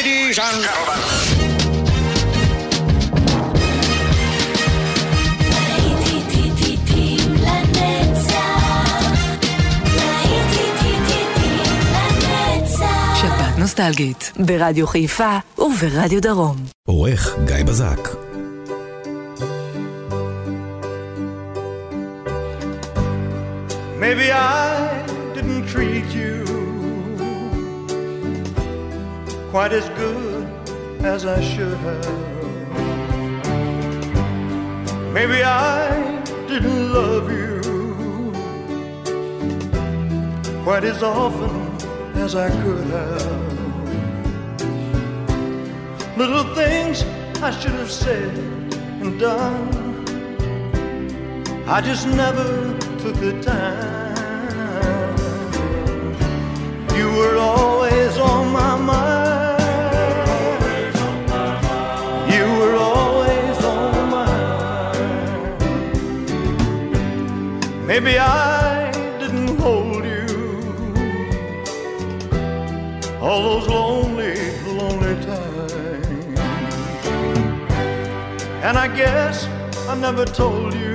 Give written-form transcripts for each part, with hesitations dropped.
Ladies and gentlemen. שבת נוסטלגית ברדיו חיפה וברדיו דרום. עורך גיא בזק. Maybe I didn't treat you quite as good as I should have. Maybe I didn't love you quite as often as I could have. Little things I should have said and done, I just never took the time. You were always on my mind. You were always on my mind. Maybe I didn't hold you all those lonely, lonely times. And I guess I never told you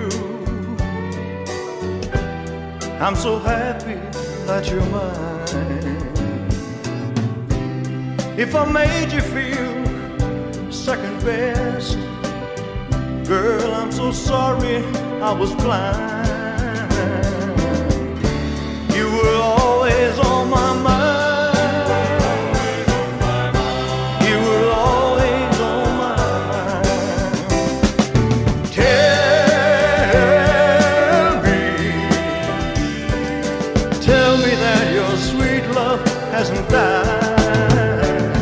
I'm so happy that you're mine. If I made you feel second best, girl, I'm so sorry I was blind. You were always on my mind. You were always on my mind. Tell me that your sweet love hasn't died.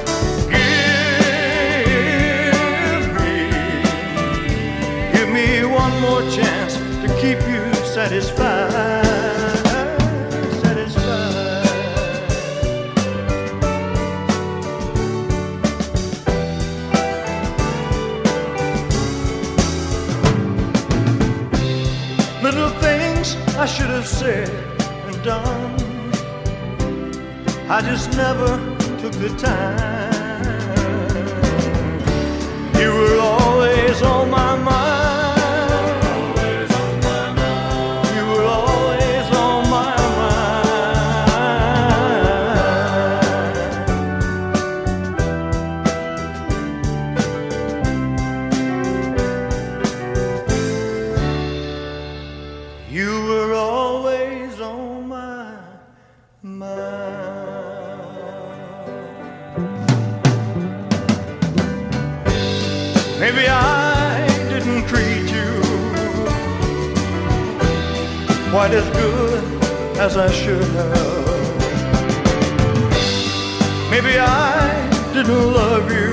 Give me one more chance to keep you satisfied. Satisfied. Little things I should have said and done, I just never took the time. You were always on my mind. You were always on my mind. You were always on my mind. Maybe I didn't treat you quite as good as I should have. Maybe I didn't love you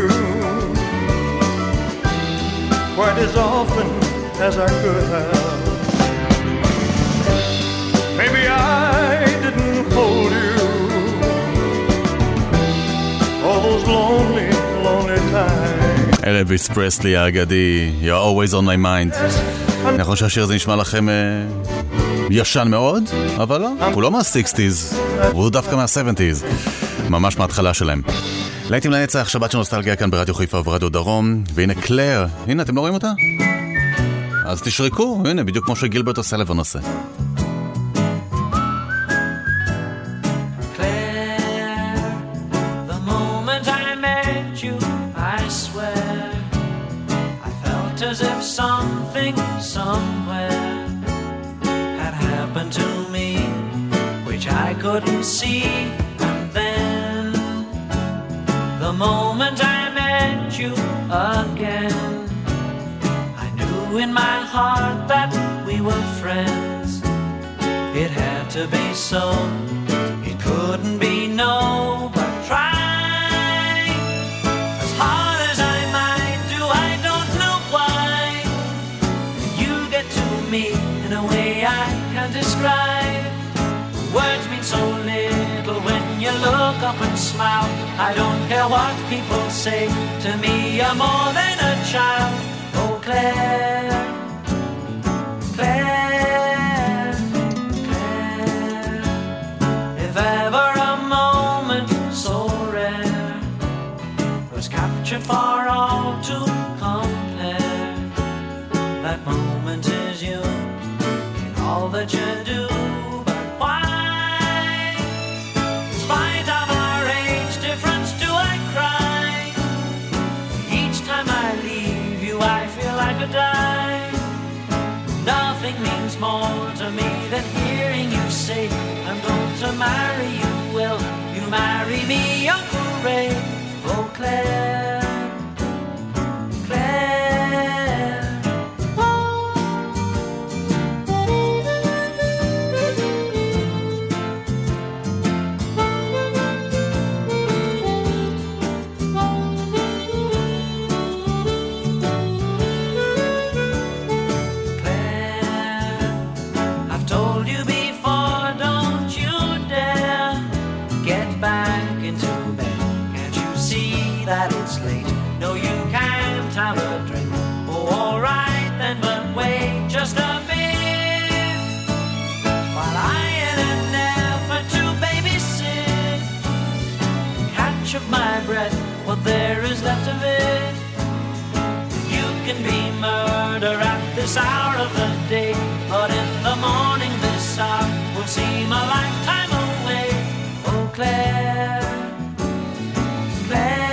quite as often as I could have. Maybe I didn't hold you all those lonely, lonely times. אלוויס פרסלי האגדי, You're always on my mind. נכון שהשיר הזה נשמע לכם ישן מאוד, אבל לא, הוא לא מה-60s, הוא דווקא מה-70s, ממש מההתחלה שלהם. להיטים לנצח, שבת של נוסטלגיה כאן ברדיו חיפה וברדיו דרום, והנה קלר, הנה אתם לא רואים אותה? אז תשרקו, הנה בדיוק כמו שגילברט עושה לבן עושה. As if something somewhere had happened to me, which I couldn't see. And then the moment I met you again, I knew in my heart that we were friends. It had to be so, it couldn't be no, but try. In a way I can't describe. Words mean so little when you look up and smile. I don't care what people say, to me you're more than a child. Oh Claire, Claire, Claire, if ever a moment so rare fortune for all to compare. That moment is you in all that you do. But why, in spite of our age difference, do I cry? Each time I leave you, I feel I could die. Nothing means more to me than hearing you say, I'm going to marry you. Will you marry me, Uncle Ray? Oh, Claire, Claire. Have a drink. Oh, all right then, but wait just a bit while I in an effort to babysit catch up my breath, what there is left of it. You can be murder at this hour of the day, but in the morning this hour will seem a lifetime away. Oh, Claire, Claire.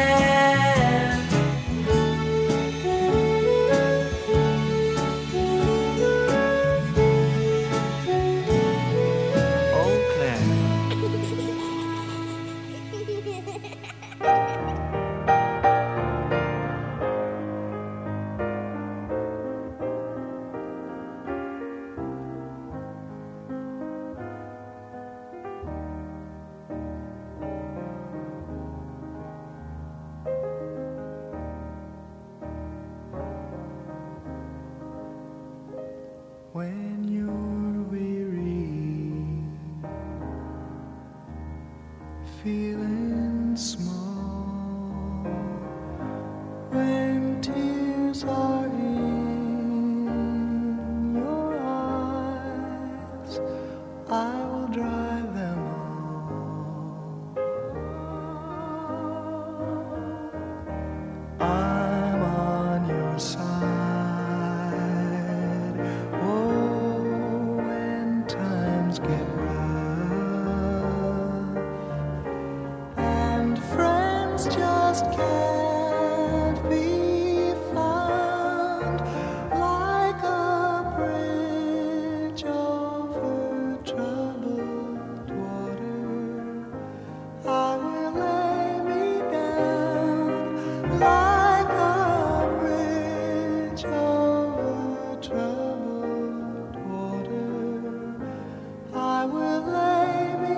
When you're weary, feeling small, when tears are in your eyes, I will dry them all. I'm on your side. Get rough and friends just can't be found like a bridge over troubled water. I will lay me down like a bridge over troubled water. I will lay me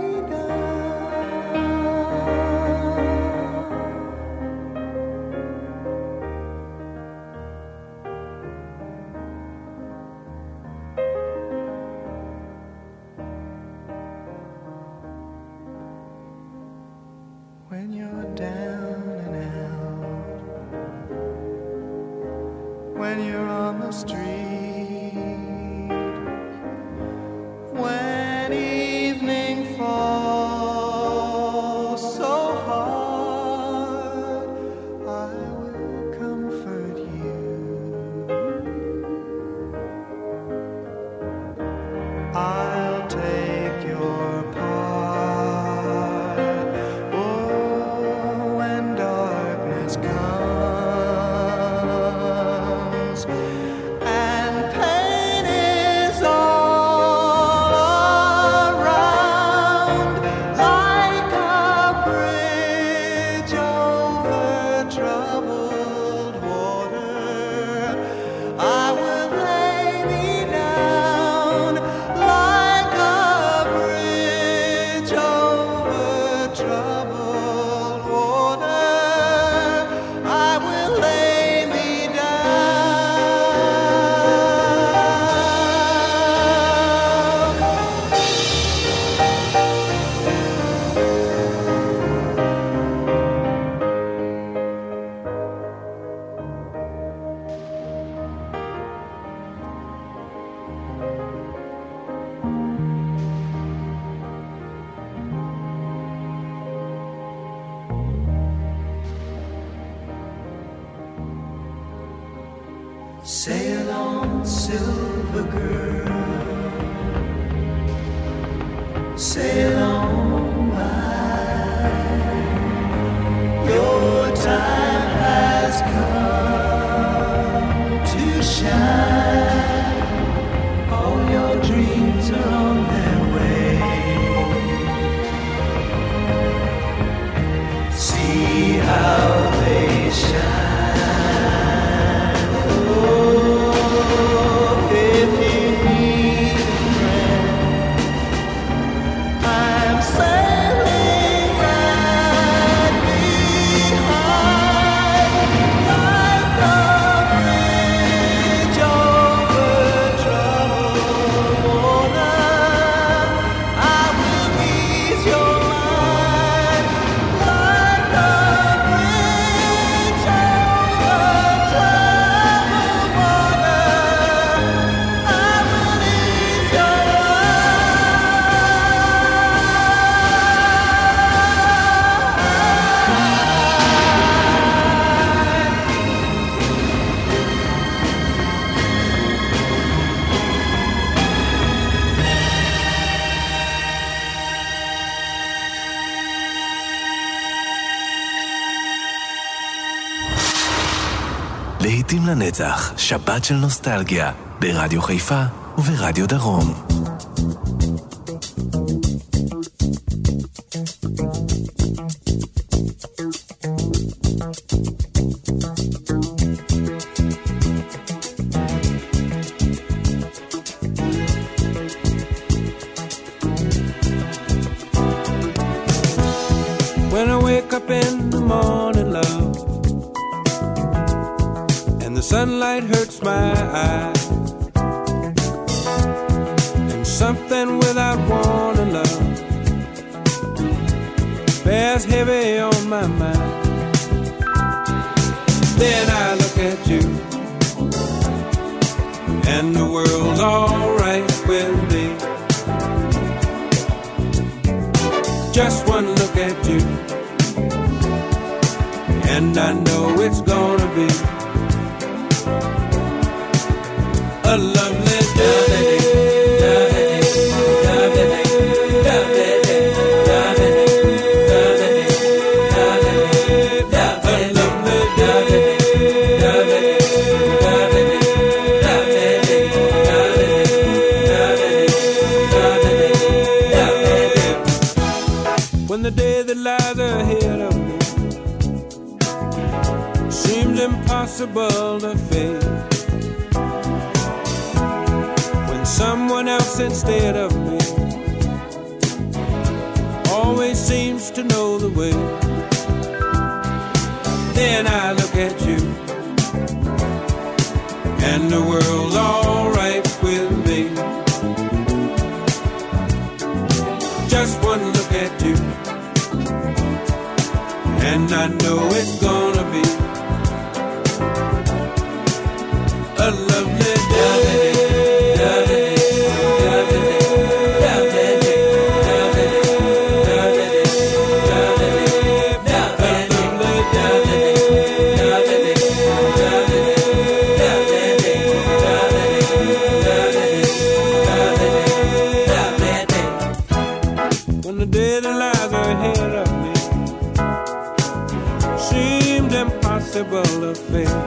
when you're down and out, when you're on the street, when evening falls so hard, I will comfort you. I'll take your part. Oh, when darkness comes and Sail on, silver girl, sail on by. Your time has come to shine. All your dreams are on their way. See how they shine. להיטים לנצח, שבת של נוסטלגיה, ברדיו חיפה וברדיו דרום. When I wake up in the morning, love, sunlight hurts my eyes, and something without warning, love, bears heavy on my mind. Then I look at you, and the world's alright with me. Just one look at you, and I know it's gonna be a lovely day. When the day that lies ahead of me seems impossible to face, someone else instead of me always seems to know the way. Then I look at you, and the world's alright with me. Just one look at you, and I know it's gonna be a lovely day. Affair.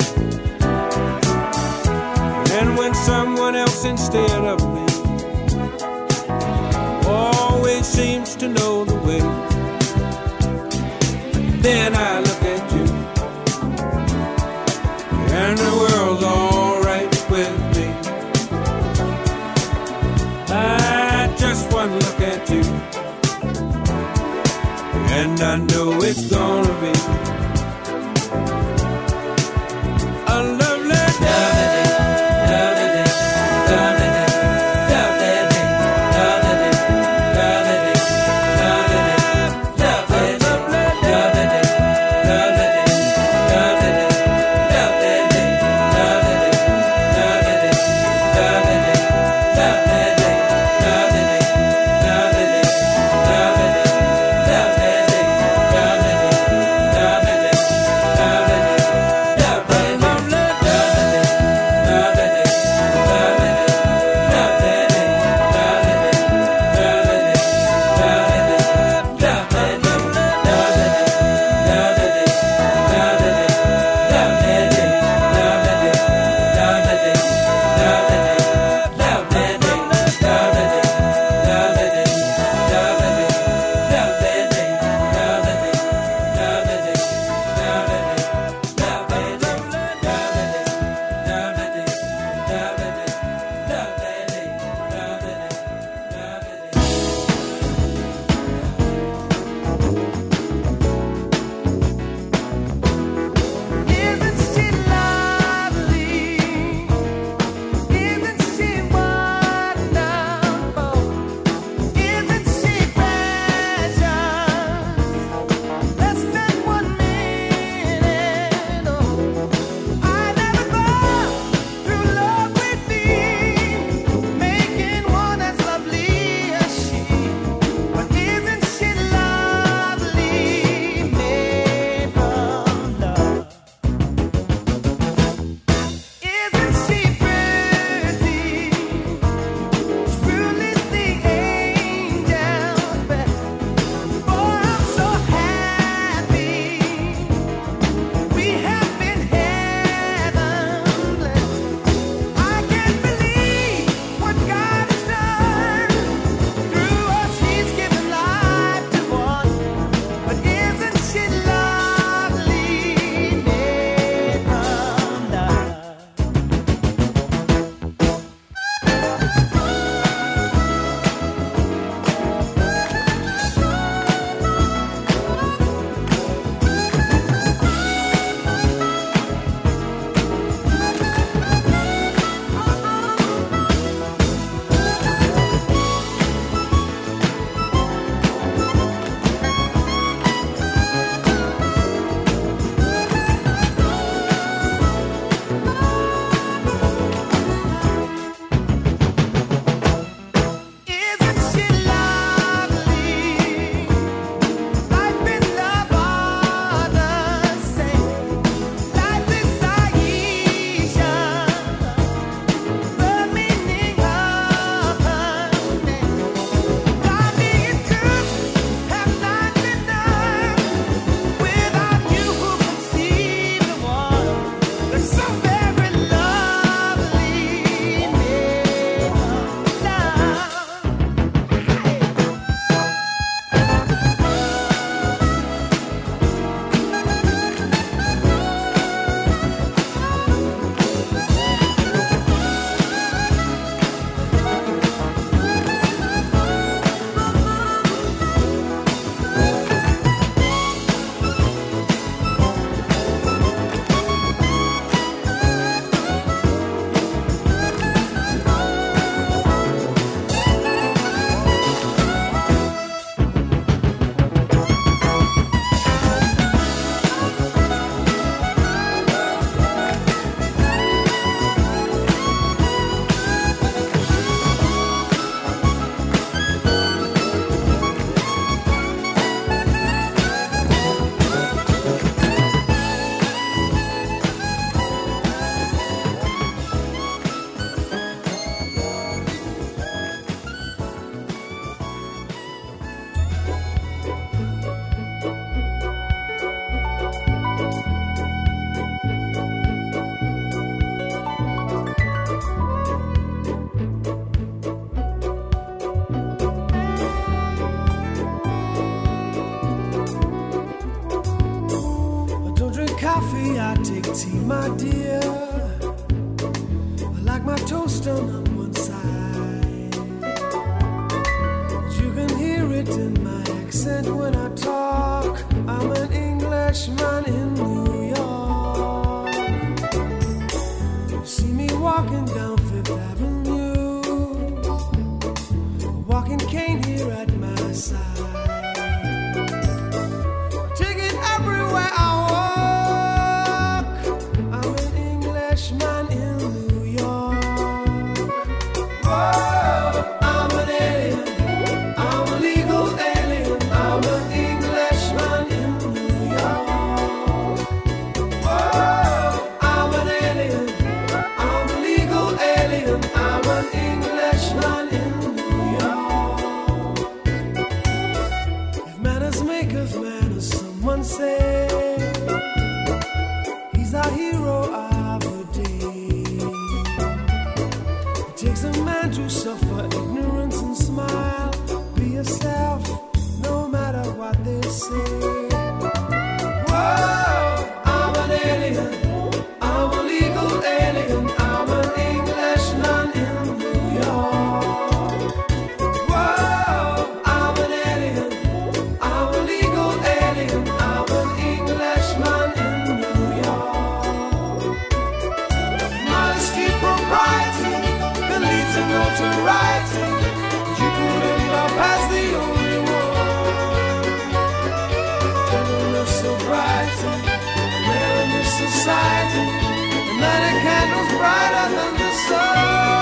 And when someone else instead of me always seems to know the way, then I look at you, and the world's alright with me. I just one look at you, and I know it's gonna be a lovely day. coffee, I take tea, my dear. I like my toast done on one side. But you can hear it in my accent when I talk. I'm an Englishman in New York. You see me walking down Fifth Avenue, a walking cane here at my side. Take it everywhere I walk. I'm an Englishman in New York. Whoa, I'm an alien. I'm a legal alien. I'm an Englishman in New York. Whoa, I'm an alien. I'm a legal alien. I'm an Englishman in New York. If manners make of manners, someone say he's our hero of the day. It takes a man to suffer ignorance and smile. Be yourself, no matter what they say. Whoa, I'm an alien. I'm a legal alien. I'm an Englishman in New York. Whoa, I'm an alien. I'm a legal alien. I'm an Englishman in New York. Modesty, propriety can lead to notoriety. You couldn't love past the only one. Gentleness, sobriety, rare in this society. And that a candle's brighter than the sun.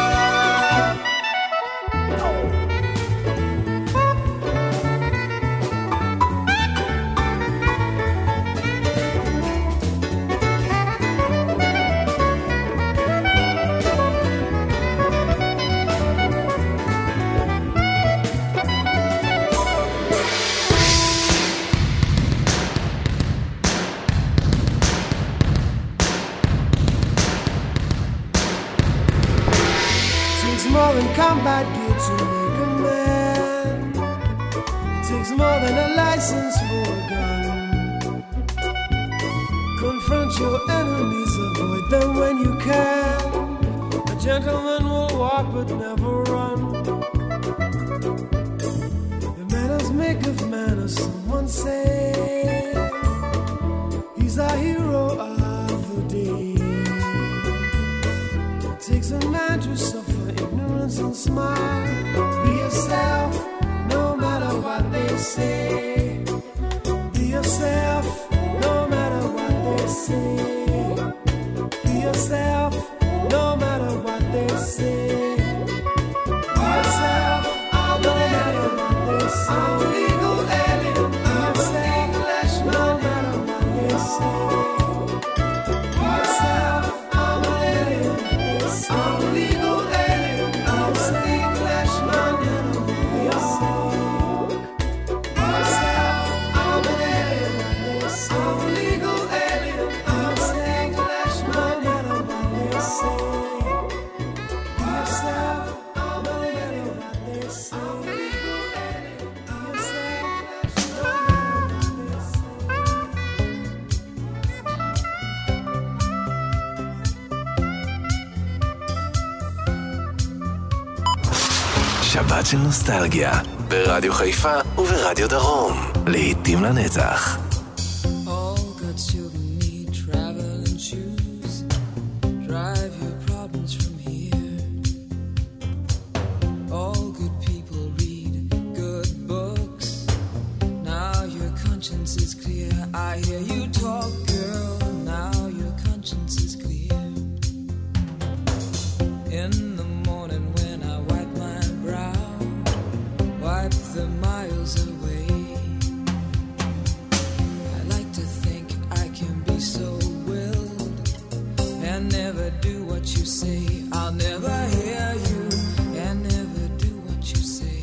Takes more than combat gear to make a man. It takes more than a license for a gun. Confront your enemies, avoid them when you can. A gentleman will walk but never run. The manners make of manners, someone say. He's our hero of the day. It takes a man to suffer ignorance and smile. Be yourself, no matter what they say. Be yourself, no matter what they say. Be yourself, no matter what they say. Be yourself, no matter what they say. I'm a legal alien. I'm an Englishman, no matter what they say. Be yourself, I'm an alien. I'm a legal alien. I'm an Englishman in New York. Be yourself, I'm an alien. I'm a legal alien. I'm an Englishman in New York. Be yourself, I'm an alien. I'm a legal alien. Be yourself, no matter what they say. שבת של נוסטלגיה, ברדיו חיפה וברדיו דרום. להיטים לנצח. All good children need traveling shoes. Drive your problems from here. All good people read good books. Now your conscience is clear. I hear you talk, girl. Now your conscience is clear. In the morning when I wipe my brow, wipe the miles away. I like to think I can be so willed and never do what you say. I'll never hear you and never do what you say.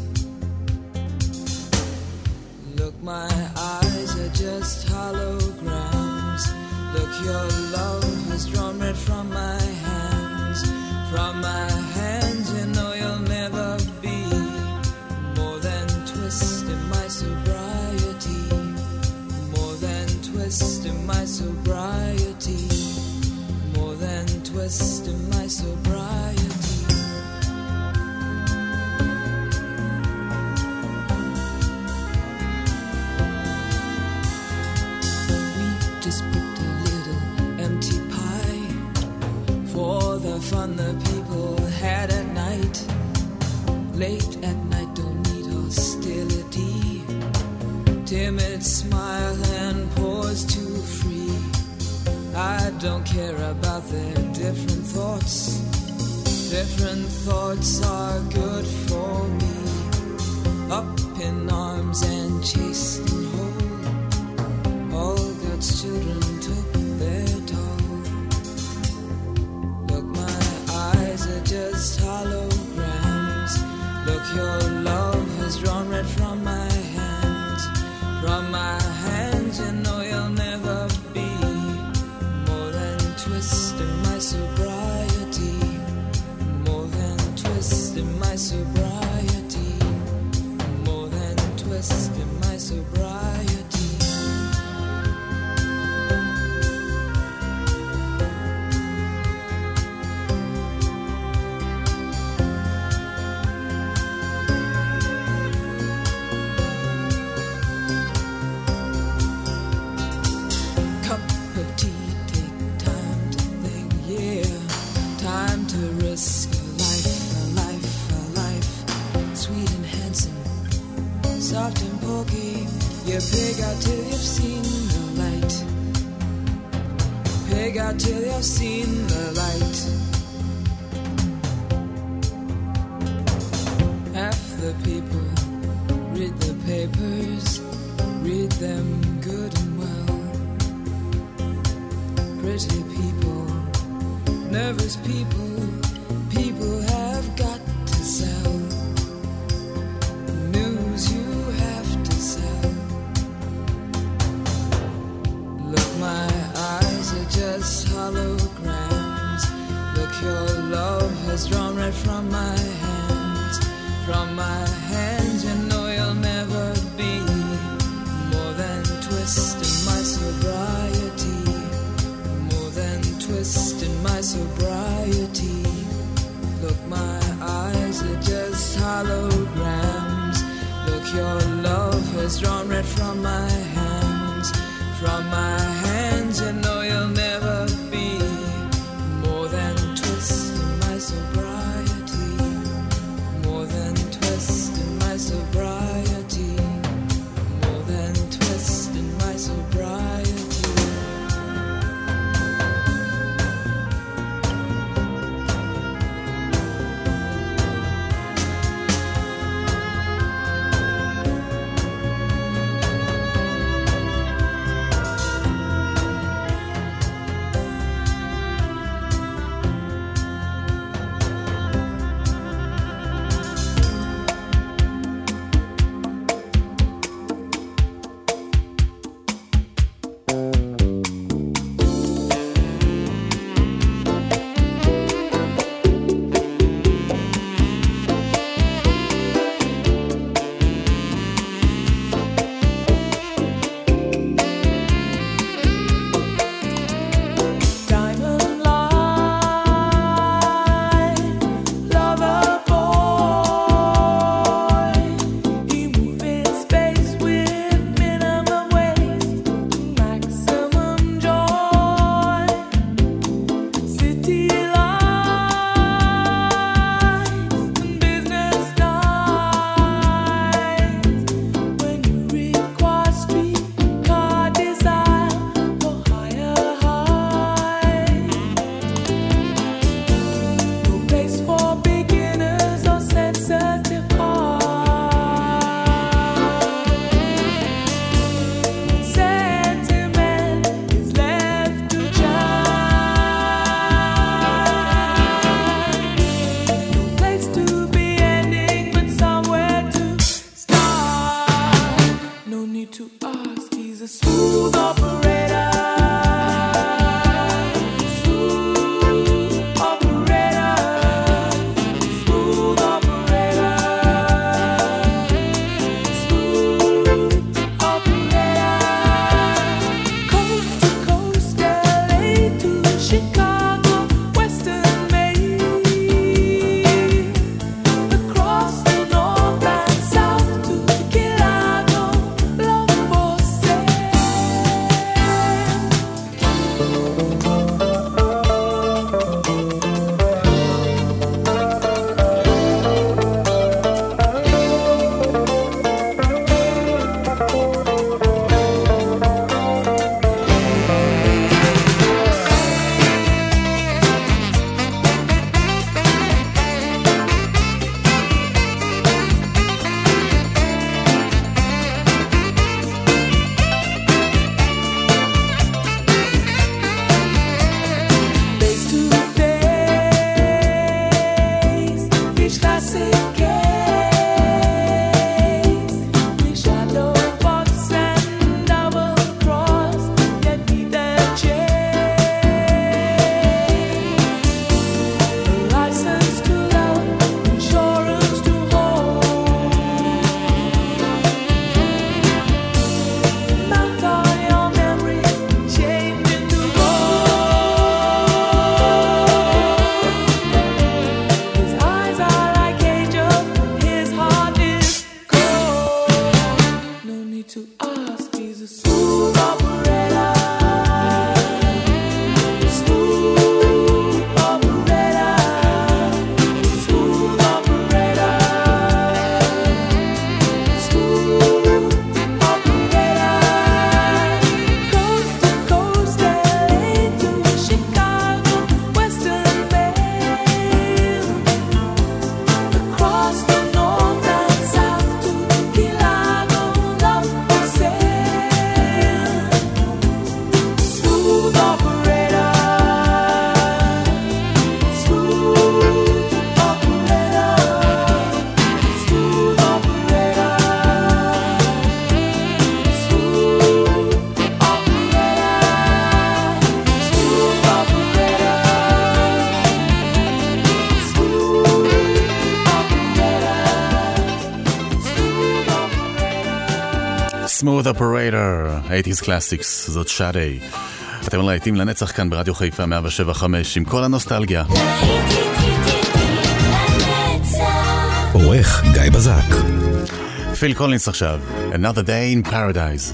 Look, my eyes are just holograms. Look, your love has drawn red from my hands. From my hands, you know you'll never be more than twist in my sobriety. More than twist twist in my sobriety, more than twist in my sobriety. We just picked a little empty pie for the fun the people had at night. Late at night, don't need hostility. Timid smile and pause too free. I don't care about their different thoughts. Different thoughts are good for me. Up in arms and chased and whole. All God's children took their toll. Look, my eyes are just holograms. Look, your love has drawn red from my hands. From my hands, you know you'll never be more than twist in my sobriety, more than twist in my sobriety, more than twist in my sobriety. Soft and pokey, you pig out till you've seen the light. Pig out till you've seen the light. Half the people read the papers, read them good and well. Pretty people, nervous people, people have got to sell. News you have to sell. Look, my eyes are just holograms. Look, your love has drawn red from my hands. From my hands, you know you'll never be more than twist in my sobriety, more than twist in my sobriety. Look, my eyes are just holograms. Look, your love has drawn red from my hands. From my hands, you know you'll never be more than twist in my sobriety, more than twist in my sobriety, more than twist in my sobriety. Smooth Operator, 80's Classics, זאת שדי. אתם להיטים לנצח כאן ברדיו חיפה 107.5 עם כל הנוסטלגיה. עורך גיא בזק. פיל קולינס עכשיו, Another Day in Paradise.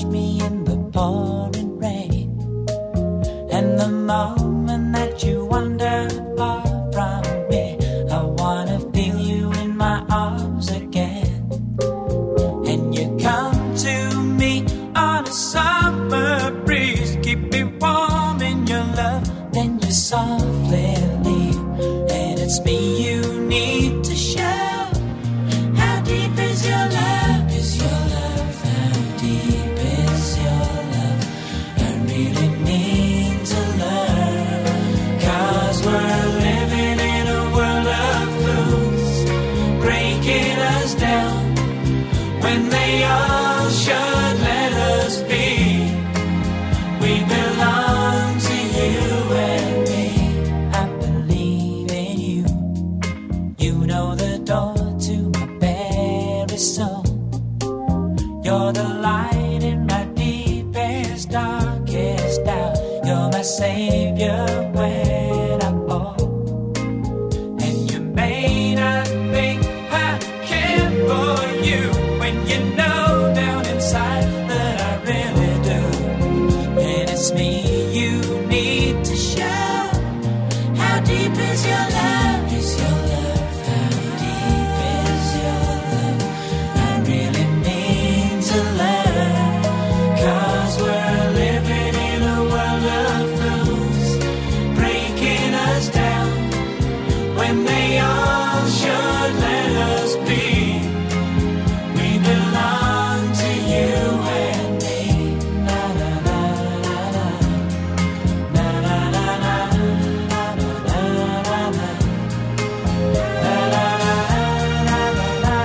me in the pouring rain. And the moment that you wander far from me, I wanna feel you in my arms again. And you come to me on a summer breeze, keep me warm in your love, then you softly leave. And it's me you need to show. How deep is your love? Is your love? How deep is your love? I really need to learn. 'Cause we're living in a world of fools, breaking us down when they all should let us be. We belong to you and me. I believe in you. You know the door to my very soul. You're the light in my deepest, darkest doubt. You're my savior when I fall. And you may not think I care for you, when you know down inside that I really do. And it's me you need to show. How deep is your love? Is your love? How deep is your love? I really need to learn. 'Cause we're living in a world of fools, breaking us down when they all should let us be. We belong to you and me. Na na na na na. Na na na na. Na na na na. Na na na na na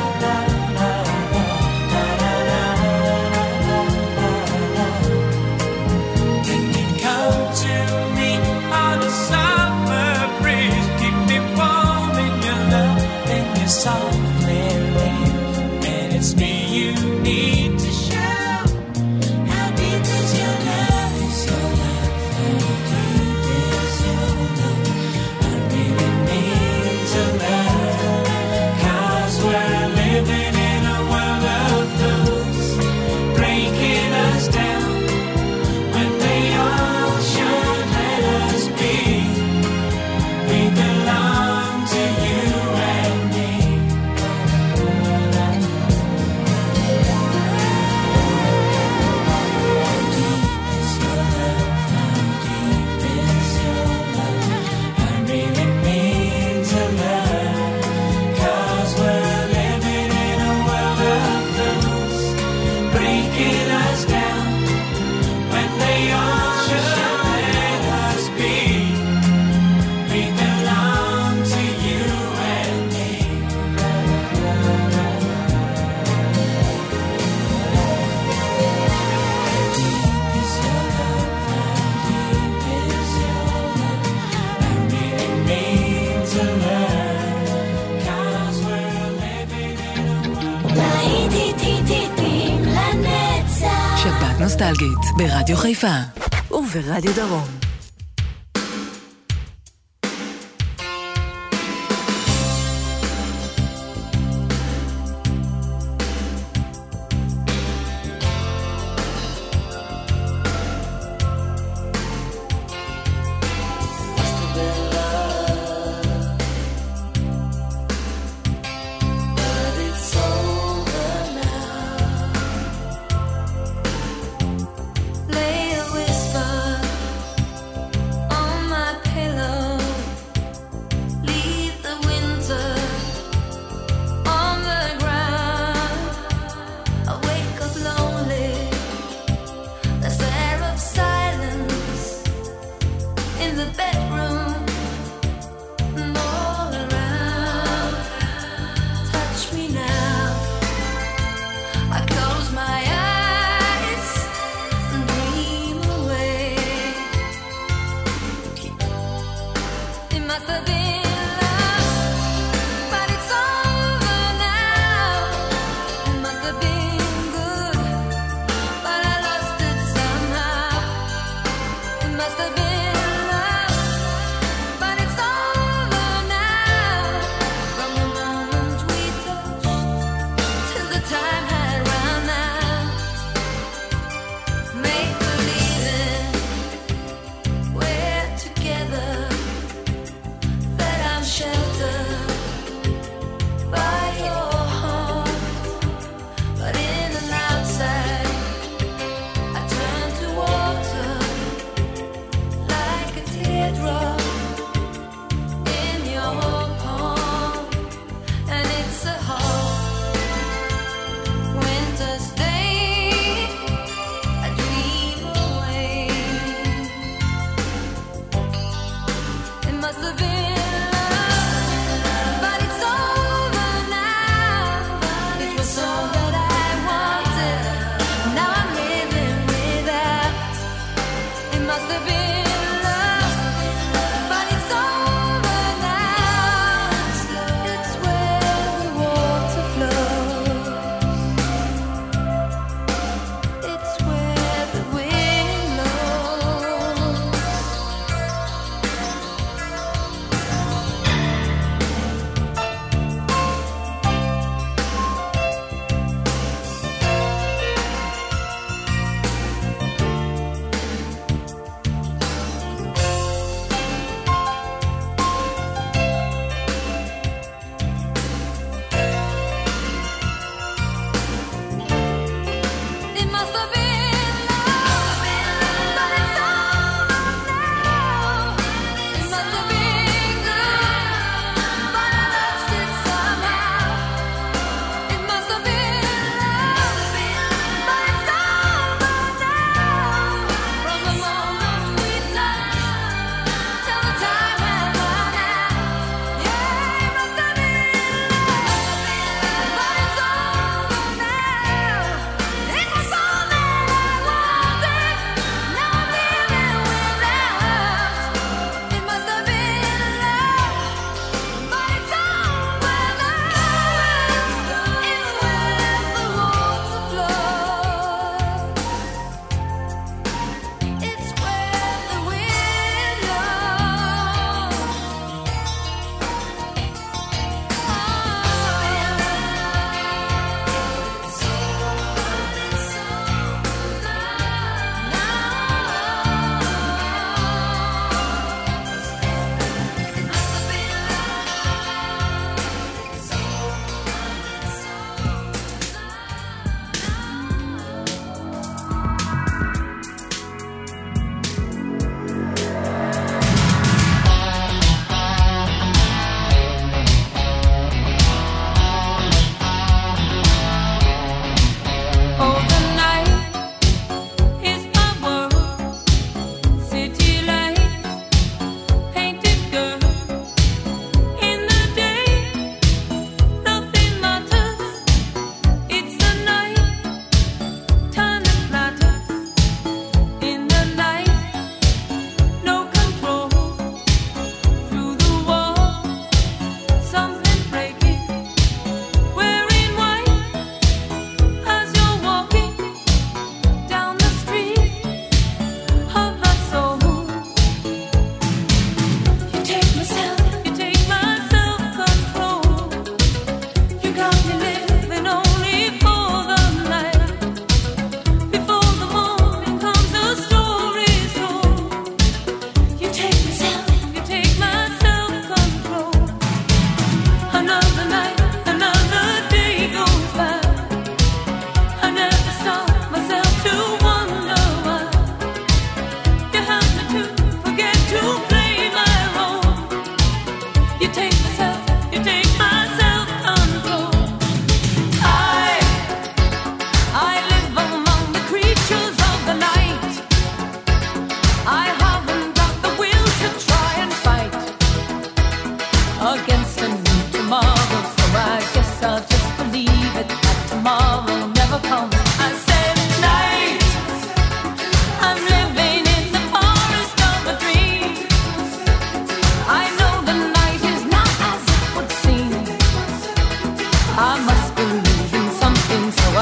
na. Can you come to me on a summer breeze, keep me warm in your love, then you softly leave. And it's me you need to show. How deep is your love? Is your love? How deep is your love? I really need to learn. 'Cause we're living in a world of fools, breaking us down when they all should let us be. We belong to you and me. How deep is your love? How deep is your love? I really need to learn. 'Cause we're living in a world of fools, breaking us down when they all should let us be. We belong to you and me. Deep is your love? How deep is your love? I really need to learn. 'Cause we're living in a world. שבת נוסטלגית ברדיו חיפה וברדיו דרום. Lay a whisper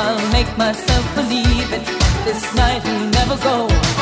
I'll make myself believe it. This night will never go.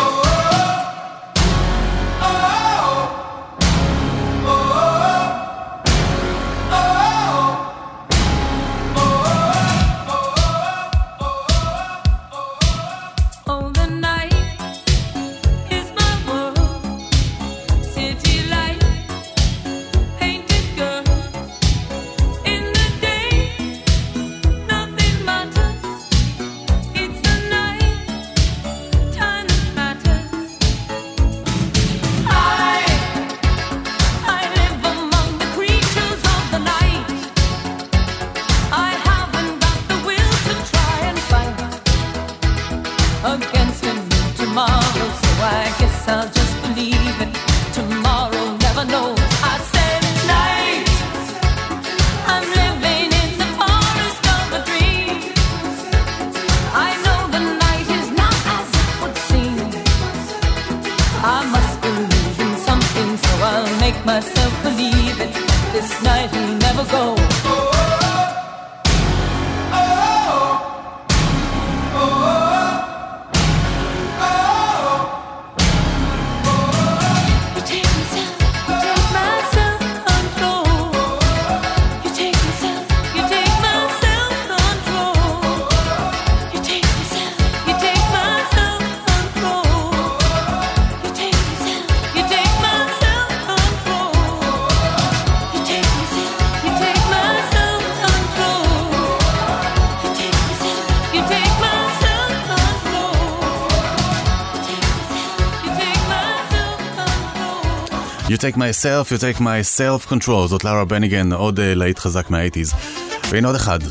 You take myself, you take my self-control. זאת לארה בניגן, עוד להיט חזק מה-80s. והנה עוד אחד.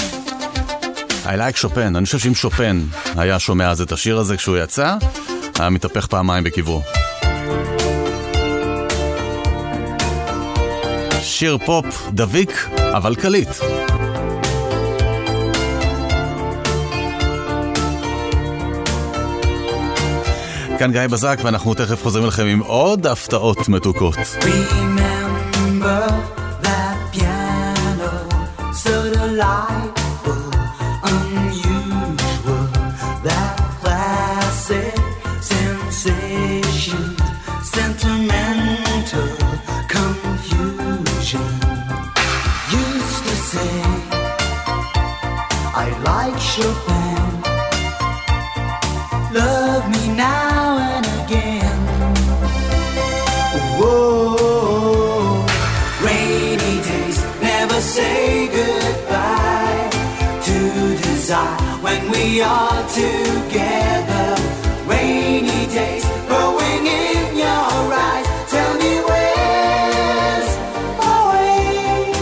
I like שופן. אני חושב שאם שופן היה שומע אז את השיר הזה כשהוא יצא, היה מתהפך פעמיים בקברו. שיר פופ דביק, אבל קליט. כאן גיא בזק, ואנחנו תכף חוזרים לכם עם עוד הפתעות מתוקות. Remember that piano, so delightful, unusual, that classic sensation, sentimental confusion. Used to say I like Chopin, love me now and again. Whoa, rainy days never say goodbye to desire when we are together. Rainy days growing in your eyes. Tell me where's my way.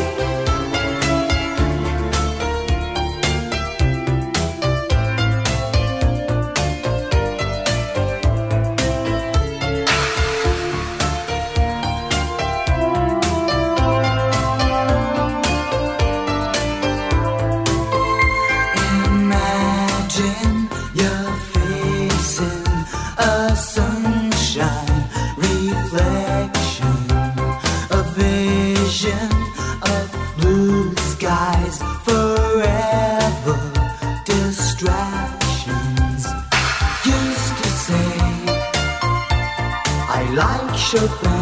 Imagine you're facing a sunshine reflection, a vision of blue skies, forever distractions. Used to say I like Chopin,